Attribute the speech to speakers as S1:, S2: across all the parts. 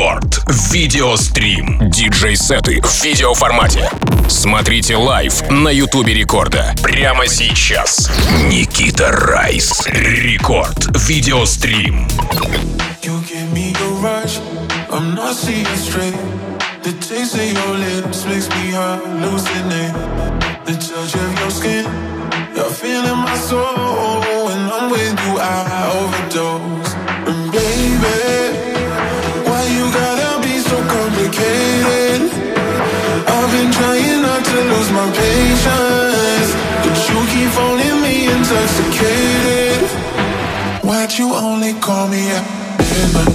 S1: Рекорд. Видеострим. Диджей-сеты в видеоформате. Смотрите лайв на Ютубе Рекорда. Прямо сейчас. Никита Райс. Рекорд. Видеострим.
S2: I'm not seeing straight. The taste of your lips makes me hallucinate. The touch of your skin, you're feeling my soul. When I'm with you, I overdose. And baby, why you gotta be so complicated? I've been trying not to lose my patience, but you keep phoning me intoxicated. Why'd you only call me at midnight?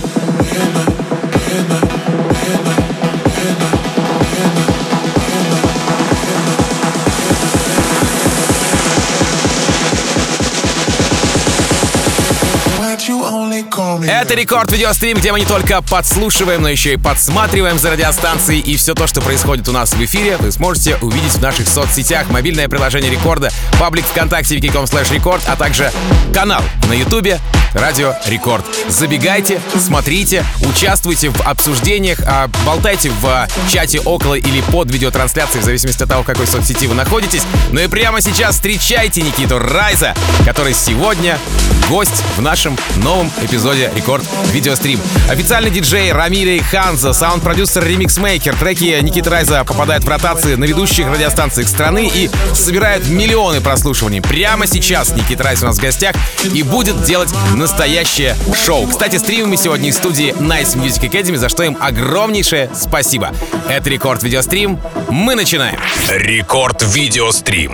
S3: Это Рекорд Видеострим, где мы не только подслушиваем, но еще и подсматриваем за радиостанцией. И все то, что происходит у нас в эфире, вы сможете увидеть в наших соцсетях. Мобильное приложение Рекорда, паблик ВКонтакте wiki.com/рекорд, а также канал на Ютубе Радио Рекорд. Забегайте, смотрите, участвуйте в обсуждениях, болтайте в чате около или под видеотрансляцией, в зависимости от того, в какой соцсети вы находитесь. Ну и прямо сейчас встречайте Никиту Райза, который сегодня гость в нашем новом эпизоде Рекорд Видеострим. Официальный диджей Рамиль Ханза, саунд-продюсер, ремикс-мейкер. Треки Никиты Райза попадают в ротации на ведущих радиостанциях страны и собирают миллионы прослушиваний. Прямо сейчас Никита Райз у нас в гостях и будет делать настоящее шоу. Кстати, стримим мы сегодня из студии Nice Music Academy, за что им огромнейшее спасибо. Это Рекорд Видеострим. Мы начинаем.
S1: Рекорд Видеострим.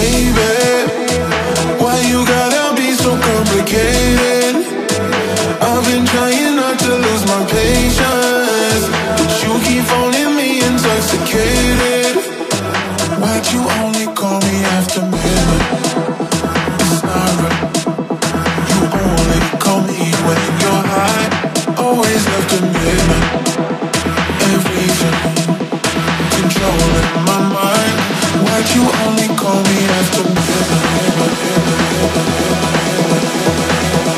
S2: I've been trying not to lose my patience, but you keep phoning me intoxicated. Why'd you only call me after midnight? It's not right. You only call me when you're high. Always after midnight. Everything controlling my mind. Why'd you only call me after midnight?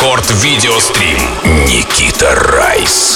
S1: Рекорд Видеострим. Никита Райс.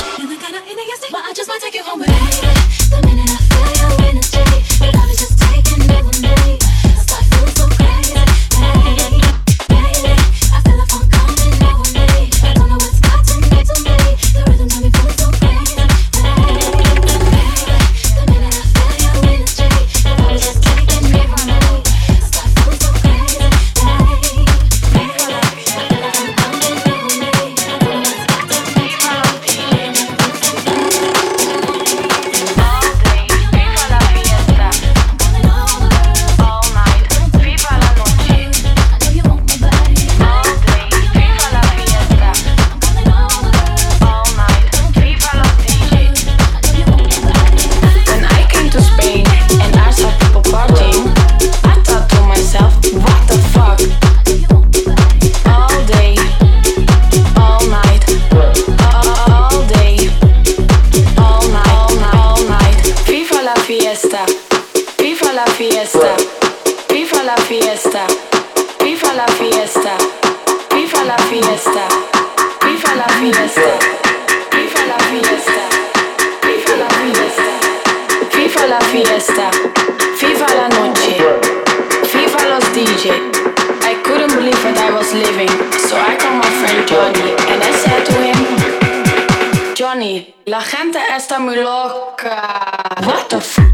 S4: La gente está muy loca. What the f?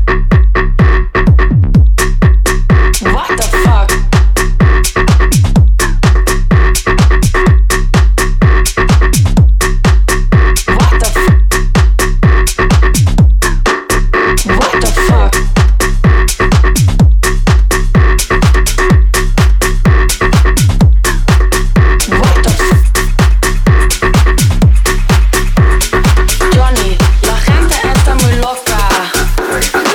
S4: What the fuck? What the f? What the fuck? What the f? Johnny, la gente está muy loca.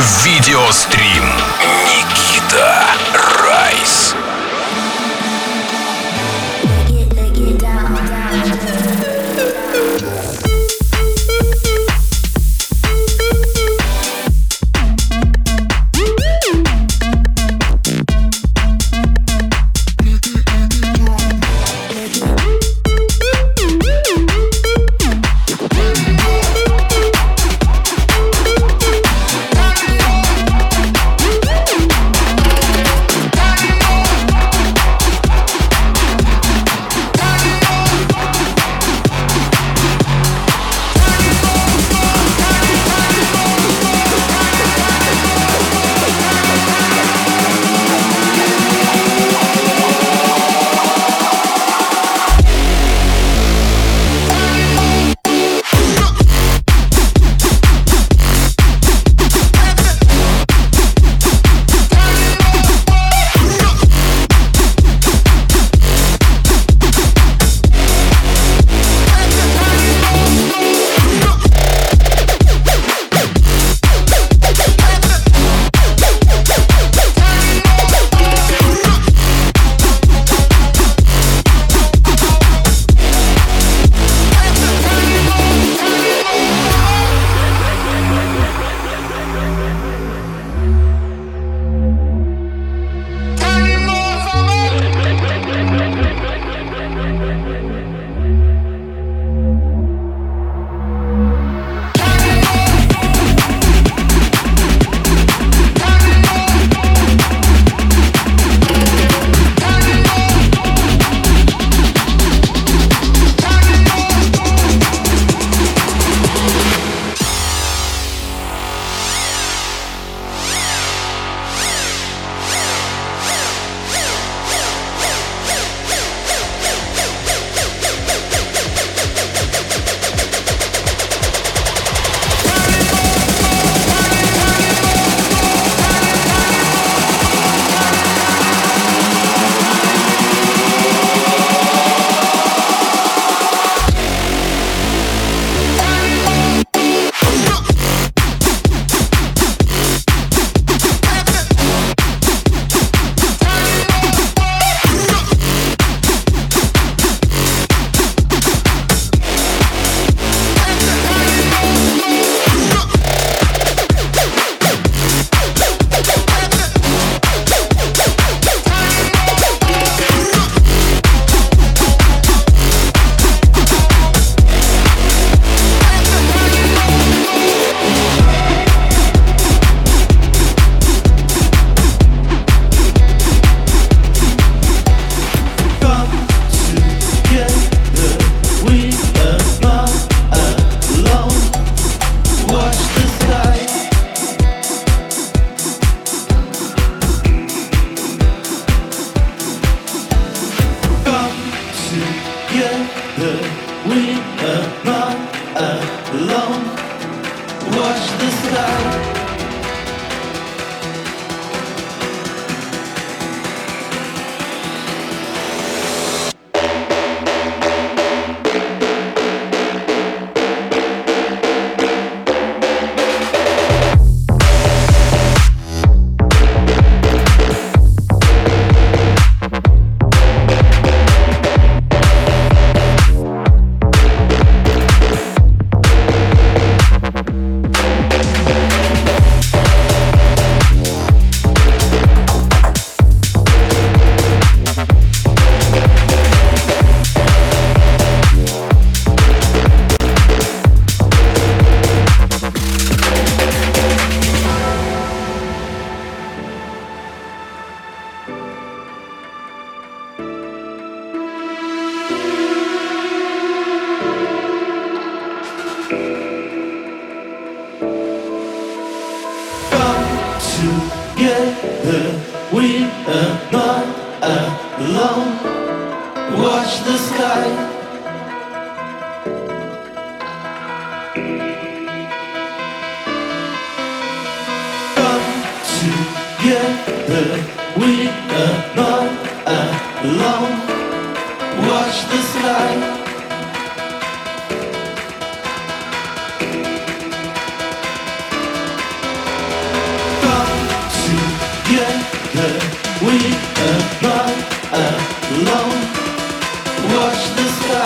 S1: Видеострим Никита Райс.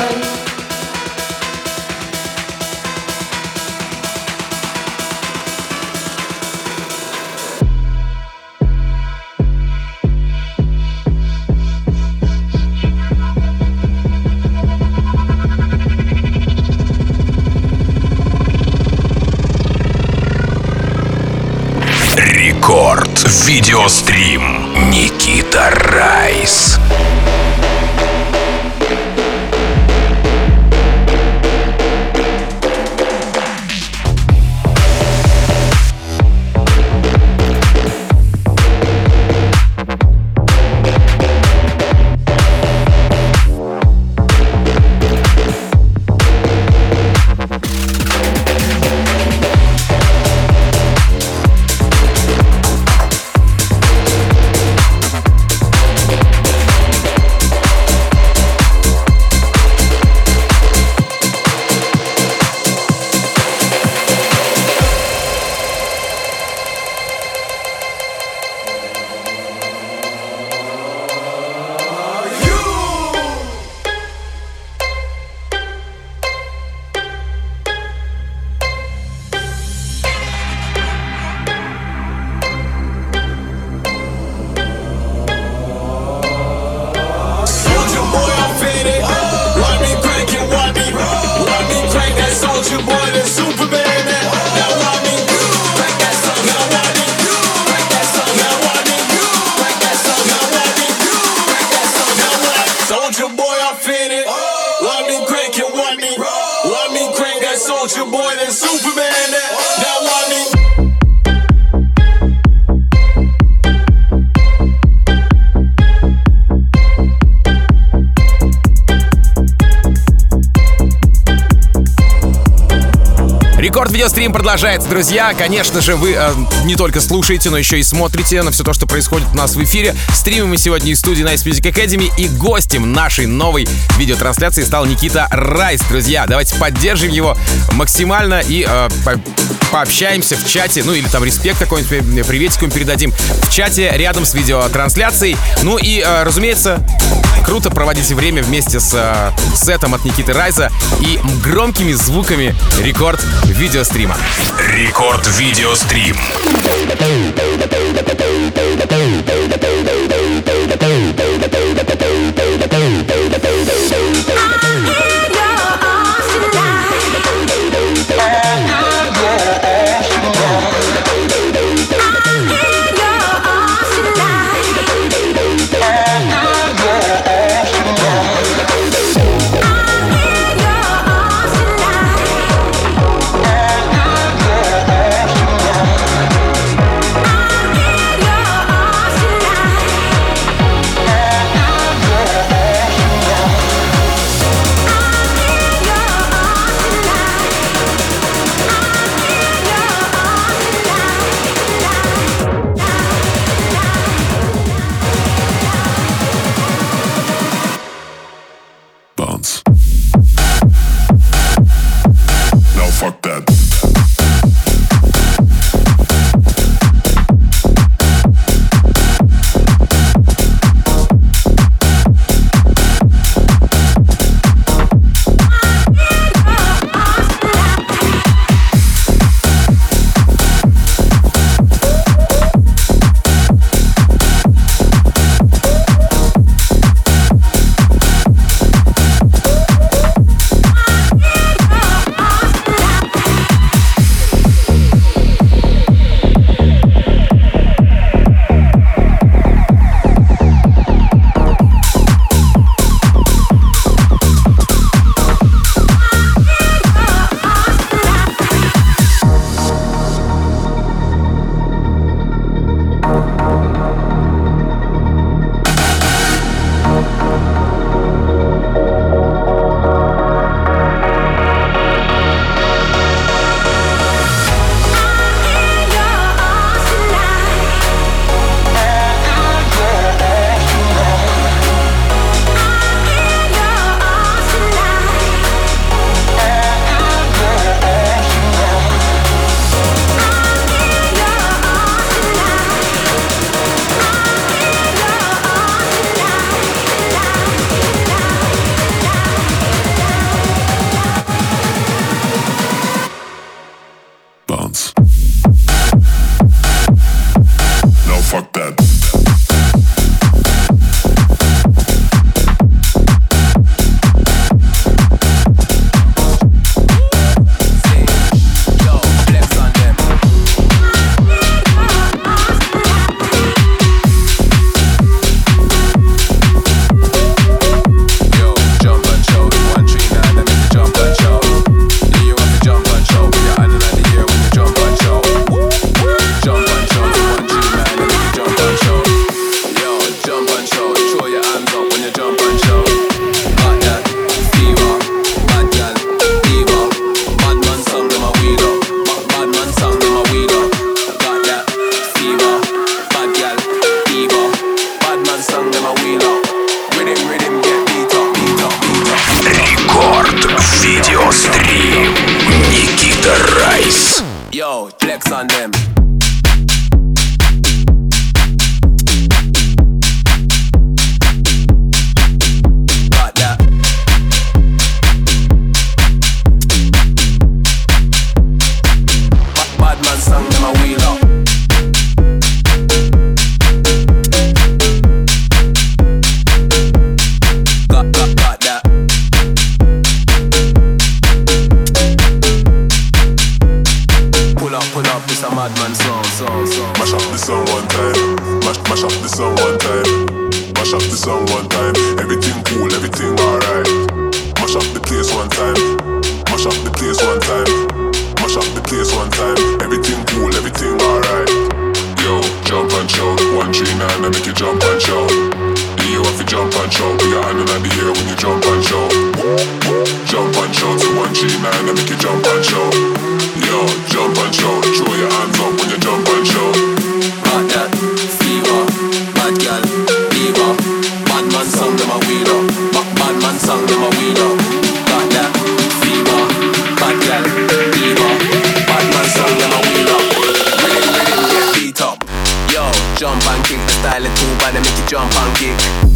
S1: Рекорд видеострим Никита Райс.
S3: Рекорд-видеострим продолжается, друзья. Конечно же, вы не только слушаете, но еще и смотрите на все то, что происходит у нас в эфире. Стримим мы сегодня из студии Nice Music Academy, и гостем нашей новой видеотрансляции стал Никита Райс. Друзья, давайте поддержим его максимально и пообщаемся в чате, ну или там респект какой-нибудь, приветик ему передадим в чате рядом с видеотрансляцией. Ну и, разумеется, круто проводите время вместе с сетом от Никиты Райса и громкими звуками рекорд-видеострима.
S1: Рекорд-видеострим.
S5: Yeah. flex on them. Got that. Bad man song them a wheel up. Got that. Pull up, this a madman song.
S6: Mash up the song one time. Mash up the song one time. Mash up the song one time. Everything cool, everything alright. Mash up the place one time. Mash up the place one time. Mash up the place one time. Everything cool, everything alright. Yo, jump and shout. 139, I make you jump and shout. You have to jump and shout. Put your hand in the air when you jump and shout. Jump and shout. So 139, I make you jump and shout. Yo, jump and shout. Throw your hands up when you jump and shout.
S5: Got that fever, bad gal, fever. Bad man song them a wheel up. Bad man song them a wheel up. Got that fever, bad gal, fever. Bad man song them a wheel up. Rhythm get beat up. Yo, jump and kick. The style is too bad, they make you jump and kick.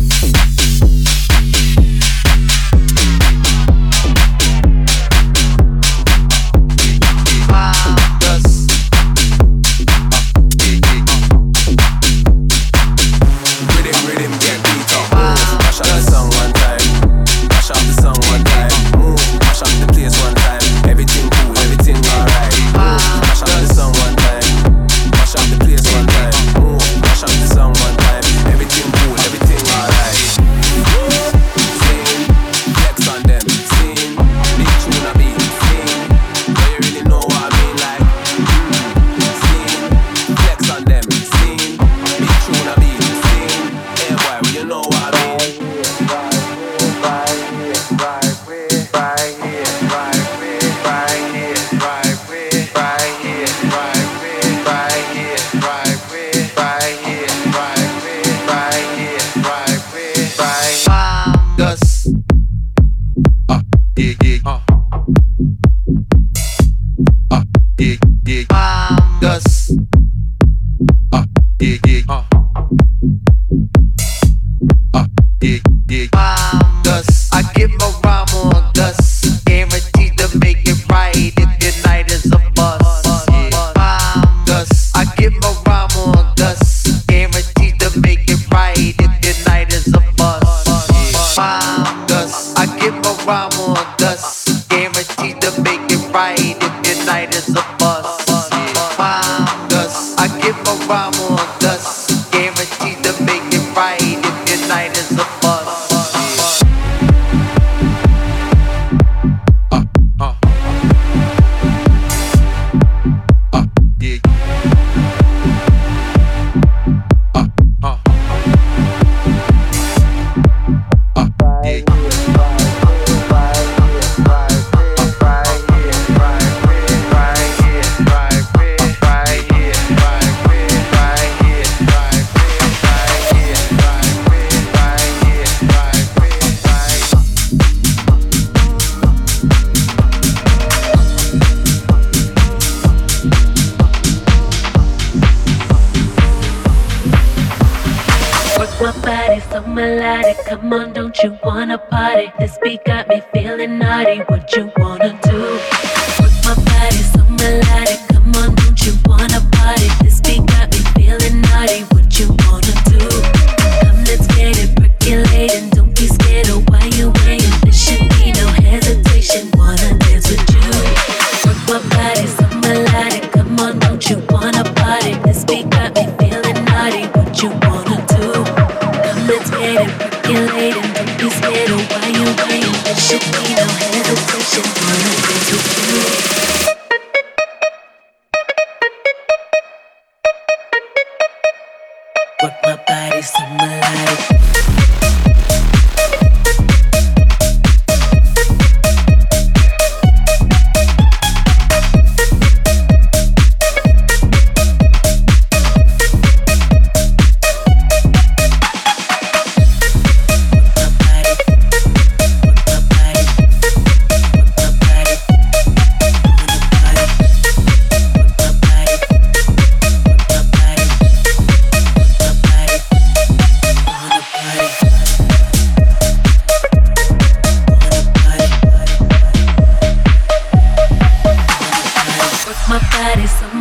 S7: Come on, don't you wanna party? This beat got me feeling naughty. What you wanna do? Work my body so melodic. Come on, don't you wanna party? This beat got me feeling naughty. What you wanna do? Come, let's get it percolating. Don't be scared of why you waiting. There should be no hesitation. Wanna dance with you? Work my body so melodic. Come on, don't you wanna party? This beat got me feeling naughty. What you wanna do? Come, let's get it percolating. Don't be scared of why you waiting. There should be no hesitation. Wanna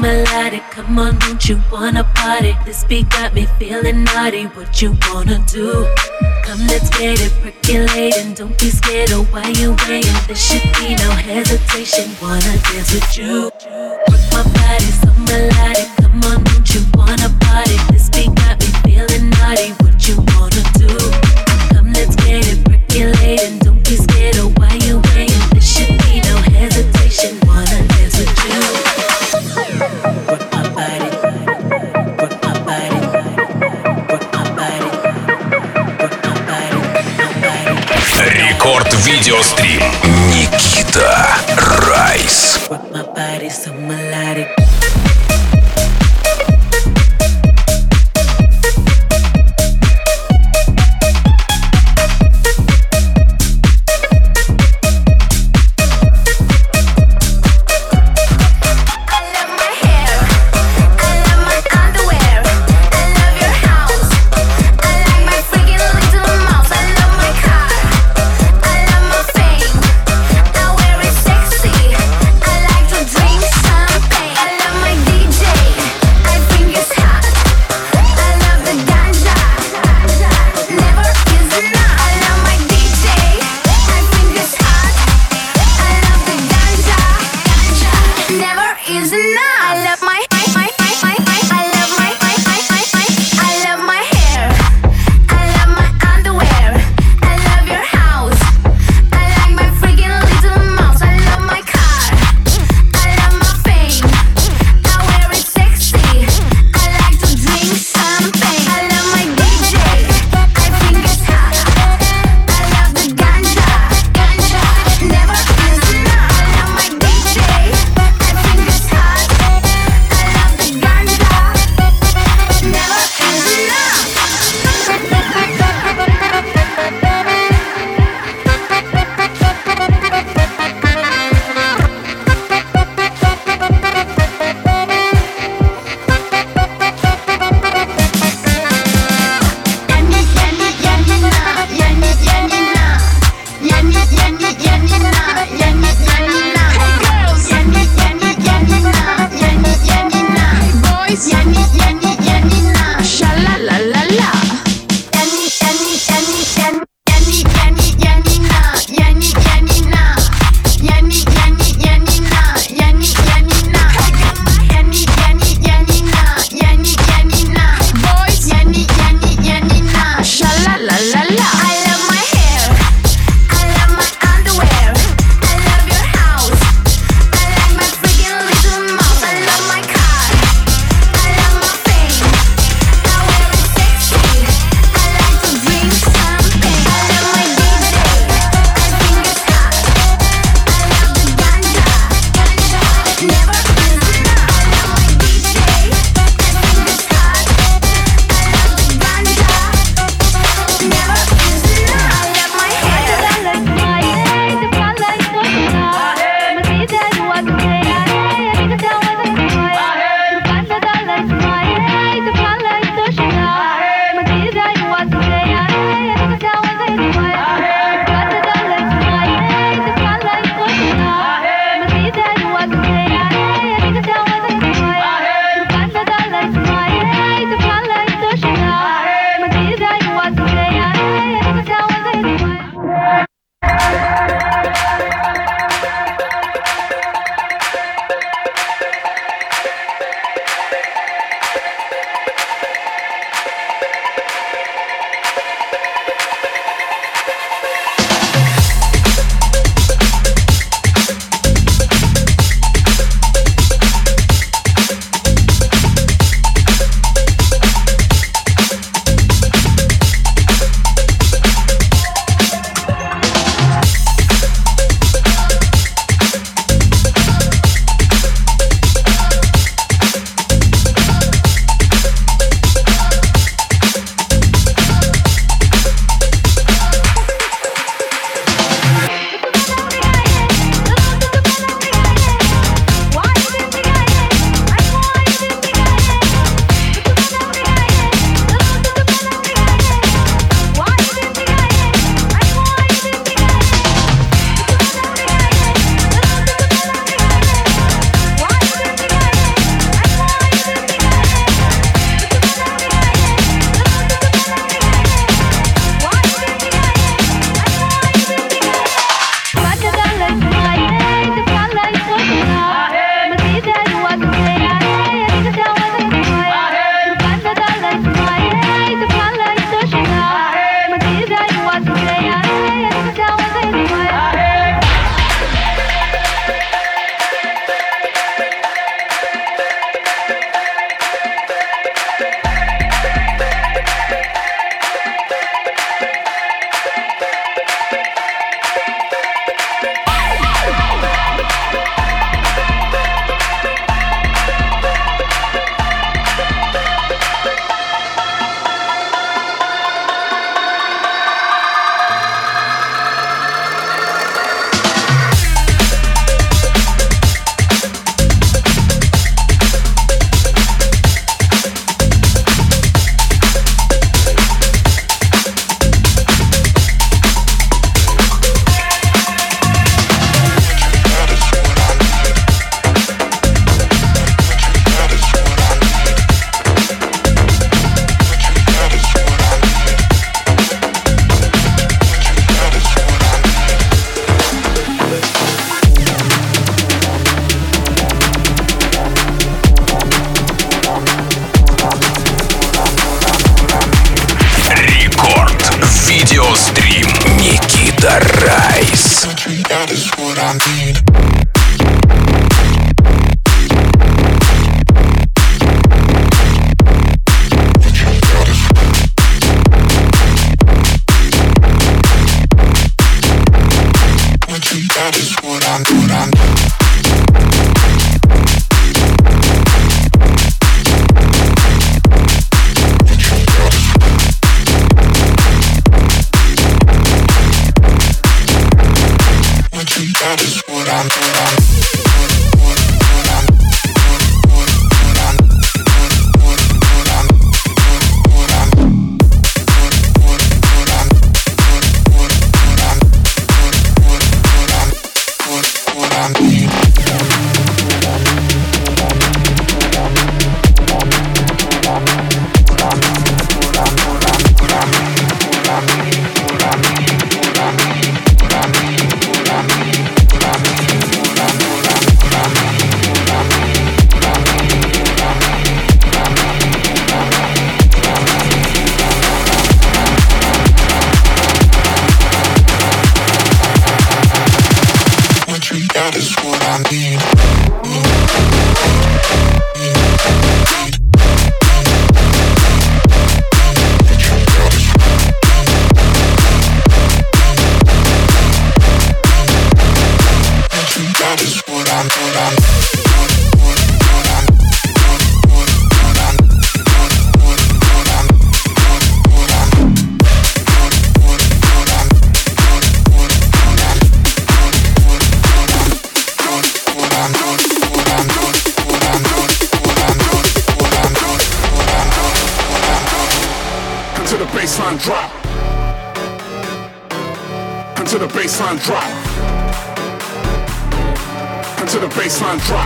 S7: melodic. Come on, don't you wanna party? This beat got me feeling naughty. What you wanna do? Come, let's get it percolating. Don't be scared of why you waiting. There should be no hesitation. Wanna dance with you? Work my body so melodic. Come on, don't you wanna party? This beat got me feeling naughty. What you wanna do? Come, let's get it percolating. Don't be scared of why you waiting. There should be no hesitation. Wanna dance with you? Work my body, work my body, work my body, work my body, my body.
S1: Рекорд видеострим. Никита Райс.
S7: Work my body so melodic.
S8: I love
S2: what I need. That is what I'm That is what I'm need.
S6: baseline drop. Until the baseline drop. Until the baseline drop.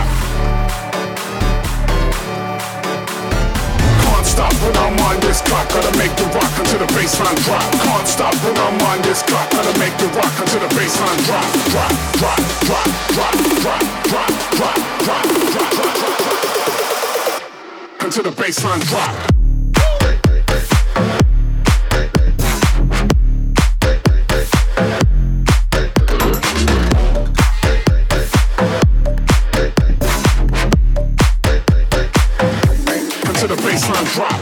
S6: Can't stop when I'm on this clock. Gotta make the rock until the baseline drop. Can't stop when I'm on this clock. Gotta make the rock until the baseline drop. Drop, drop, drop, drop, drop, drop, drop, drop, drop, drop, drop. Until the baseline drop. Until the baseline drop.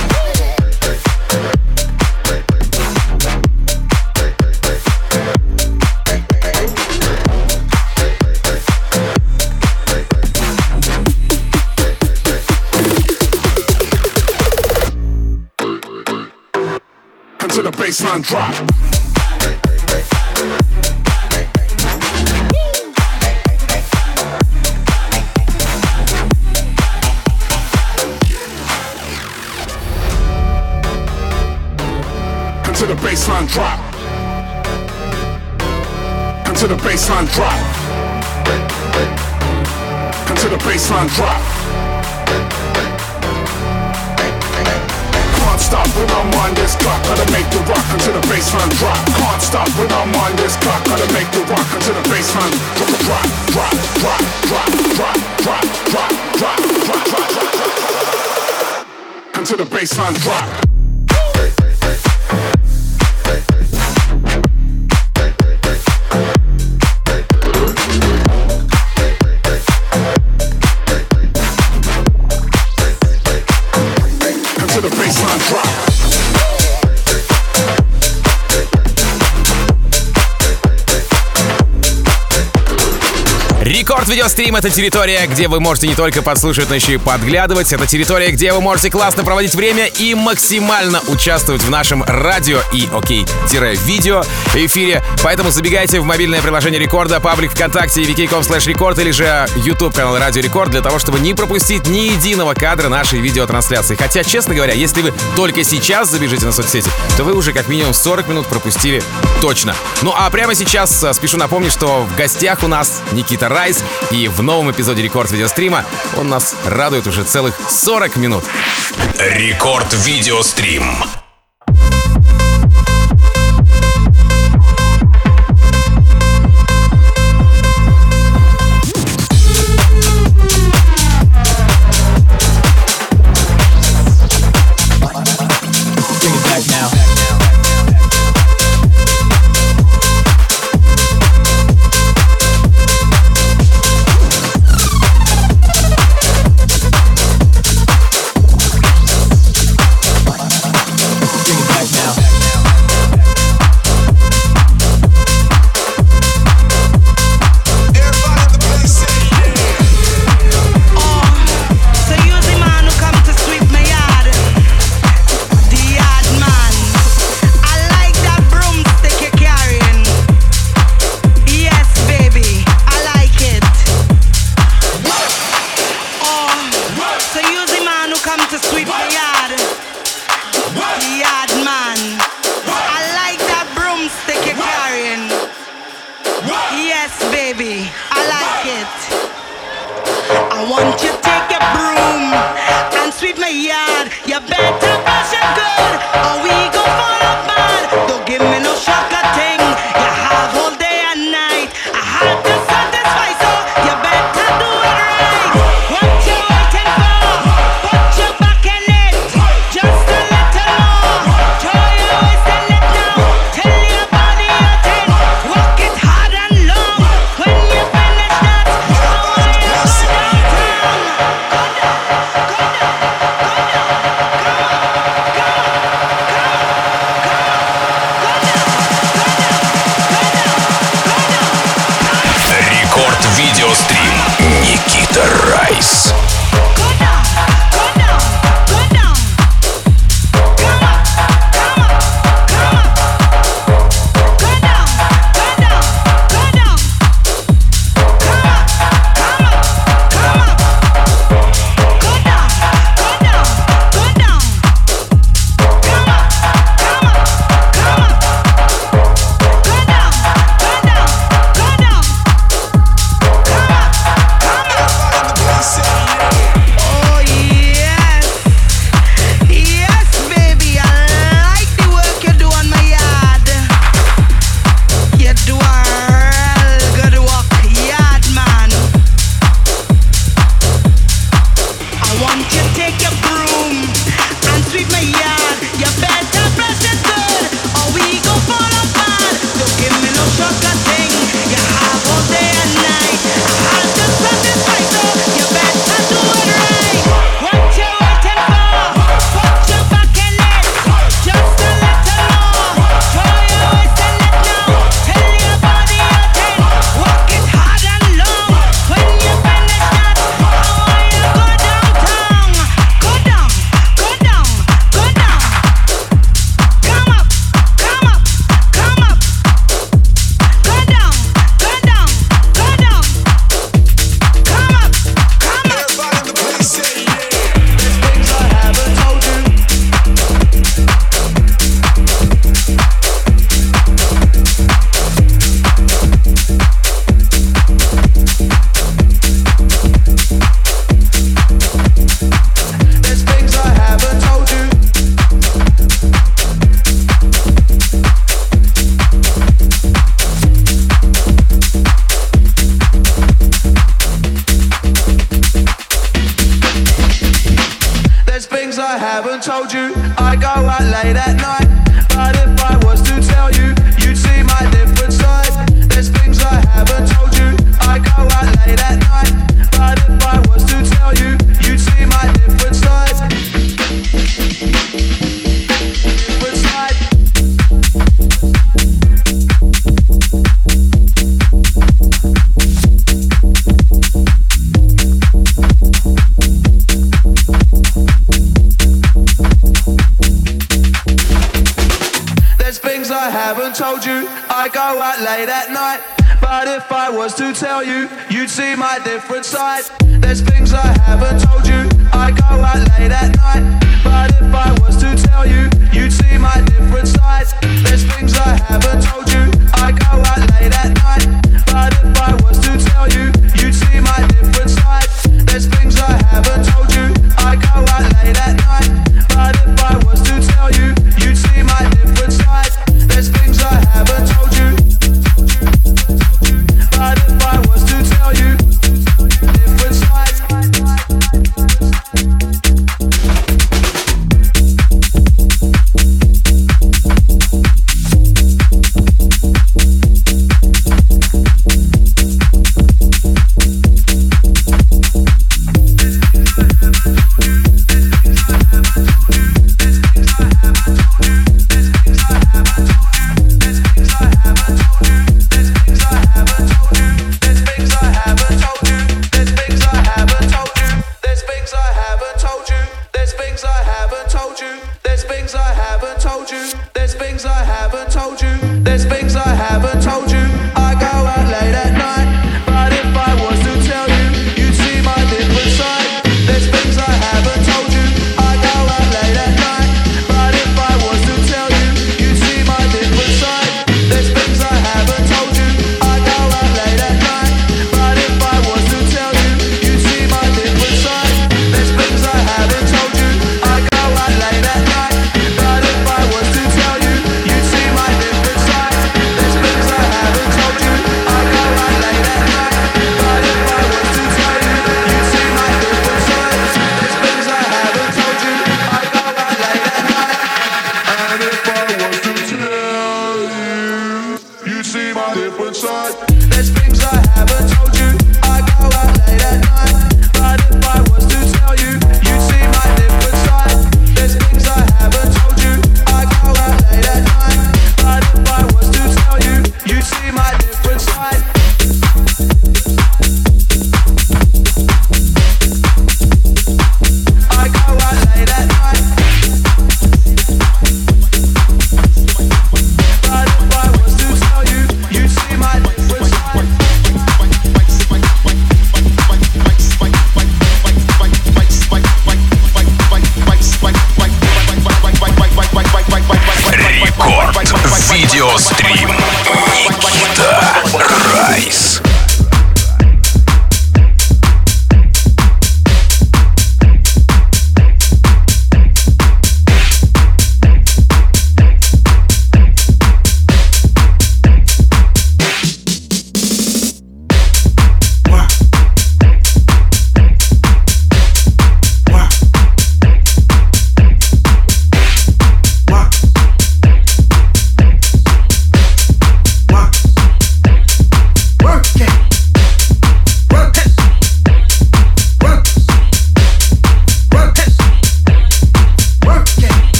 S6: Until the baseline drop. Until the baseline drop. Until the baseline drop. Until the baseline drop. Can't stop when I'm on this clock. Gotta make the rock until the baseline drop. Can't stop when I'm on this clock. Gotta make the rock until the baseline drop. Drop, drop, drop, drop, drop, drop, drop, drop, drop, drop, drop. Until the baseline drop. Until the baseline drop.
S3: Рекорд Видеострим — это территория, где вы можете не только подслушивать, но еще и подглядывать. Это территория, где вы можете классно проводить время и максимально участвовать в нашем радио и видео эфире. Поэтому забегайте в мобильное приложение Рекорда, паблик ВКонтакте, vk.com/рекорд или же YouTube канал Радио Рекорд для того, чтобы не пропустить ни единого кадра нашей видеотрансляции. Хотя, честно говоря, если вы только сейчас забежите на соцсети, то вы уже как минимум 40 минут пропустили точно. Ну а прямо сейчас спешу напомнить, что в гостях у нас Никита Райс, и в новом эпизоде Рекорд Видеострима он нас радует уже целых 40 минут.
S1: Рекорд Видеострим. Рекорд Видеострим. Никита Райс.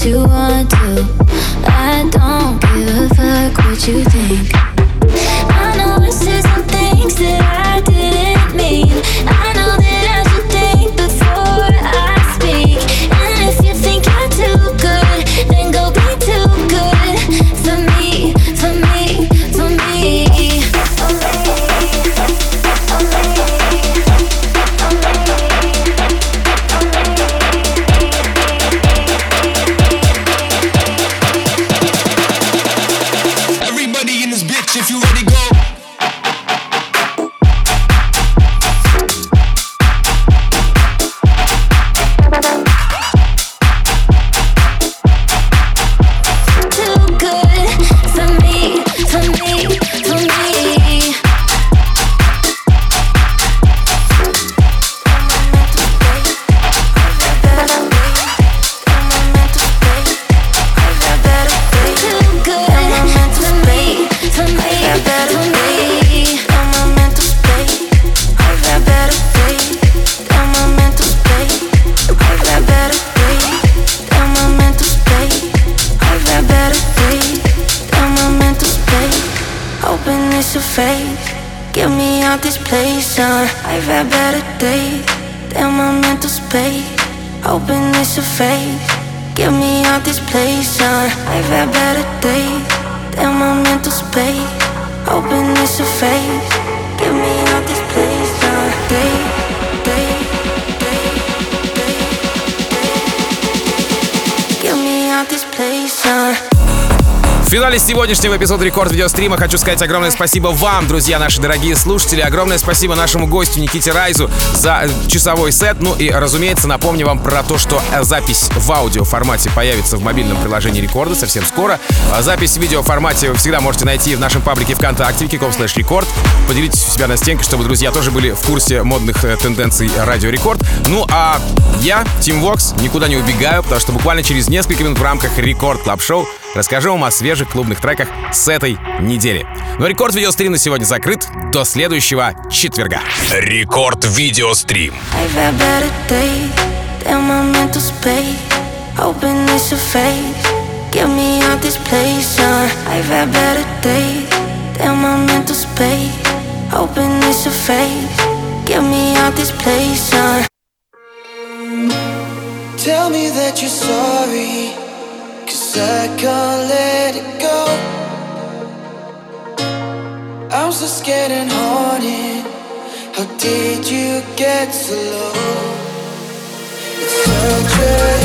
S8: you want to. I don't give a fuck what you think. I know I said some things that I didn't mean. I know that I should think before I speak. And if you think you're too good, then go be too good for me, for me, for me.
S5: Everybody in this bitch, if you ready, go.
S8: Get me out this place, I've had better days. Damn my mental space. Hoping it's a phase. Get me out this place, I've had better days. Damn my mental space. Hoping it's a phase. Get me out this place, Get me out this place,
S3: В финале сегодняшнего эпизода рекорд-видеострима хочу сказать огромное спасибо вам, друзья, наши дорогие слушатели. Огромное спасибо нашему гостю Никите Райзу за часовой сет. Ну и, разумеется, напомню вам про то, что запись в аудиоформате появится в мобильном приложении Рекорда совсем скоро. Запись в видеоформате вы всегда можете найти в нашем паблике ВКонтакте wiki.com/рекорд. Поделитесь у себя на стенке, чтобы друзья тоже были в курсе модных тенденций Радио Рекорд. Ну а я, Тим Вокс, никуда не убегаю, потому что буквально через несколько минут в рамках Рекорд Клаб Шоу расскажу вам о свежих клубных треках с этой недели. Но рекорд-видеострим на сегодня закрыт. До следующего четверга.
S1: Рекорд-видеострим.
S2: Tell me that you're sorry, 'cause I can't let it go. I'm so scared and haunted. How did you get so low? It's such a